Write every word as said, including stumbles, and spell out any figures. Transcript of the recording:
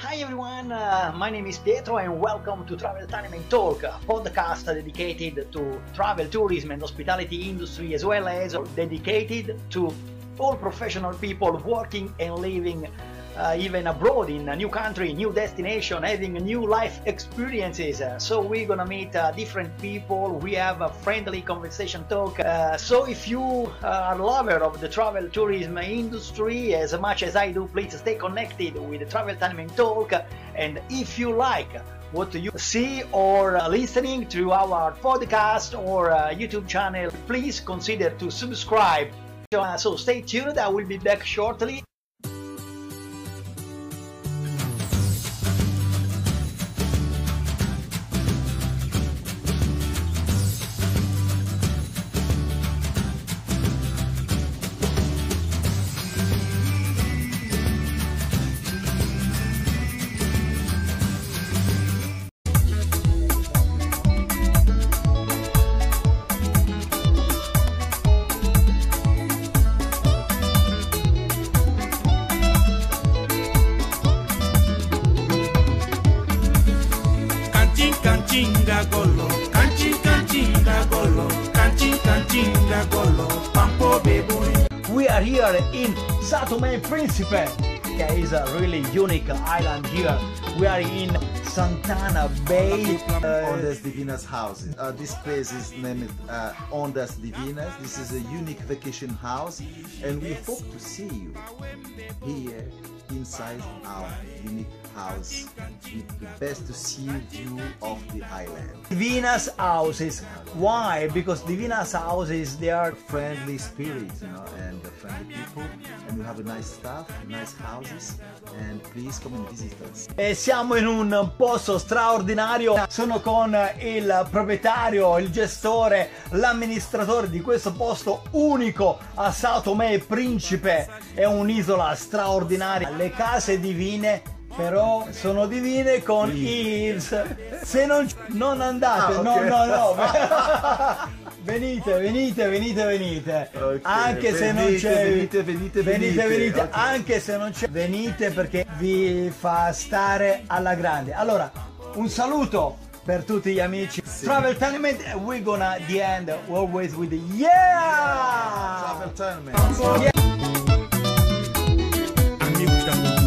Hi everyone, uh, my name is Pietro and welcome to Travel Time and Talk, a podcast dedicated to travel, tourism and hospitality industry, as well as dedicated to all professional people working and living uh, even abroad in a new country, new destination, having new life experiences. Uh, so we're gonna meet uh, different people, we have a friendly conversation talk. Uh, so if you are a lover of the travel tourism industry as much as I do, please stay connected with the Travel Time and Talk. And if you like what you see or uh, listening to our podcast or uh, YouTube channel, please consider to subscribe. Uh, so stay tuned, I will be back shortly. Kanchinga golo, kanchin kanchinga golo, kanchin kanchinga golo, pampo beboy. We are here in São Tomé e Príncipe. There is a really unique island here. We are in Santana Bay. Uh, Ondas Divinas house. Uh, this place is named uh, Ondas Divinas. This is a unique vacation house, and we hope to see you here inside our unique house with the best to see view of the island. Divinas houses. Why? Because Divinas houses, they are Friendly spirit, you know, and friendly people, and we have a nice staff, nice houses, and please come and visit us. E siamo in un posto straordinario. Sono con il proprietario, il gestore, l'amministratore di questo posto unico a São Tomé e Príncipe. È un'isola straordinaria. Le case divine, però sono divine con Yves. Se non, non andate, Ah, no, okay. no, no. Venite, venite, venite, venite. Okay, Anche se non venite, c'è. venite, venite, venite, venite. venite. Okay. Anche se non c'è. Venite perché vi fa stare alla grande. Allora, un saluto per tutti gli amici. Sì. Travel Tournament, we're gonna the end always with the yeah! Travel Tournament. Yeah! Amigos da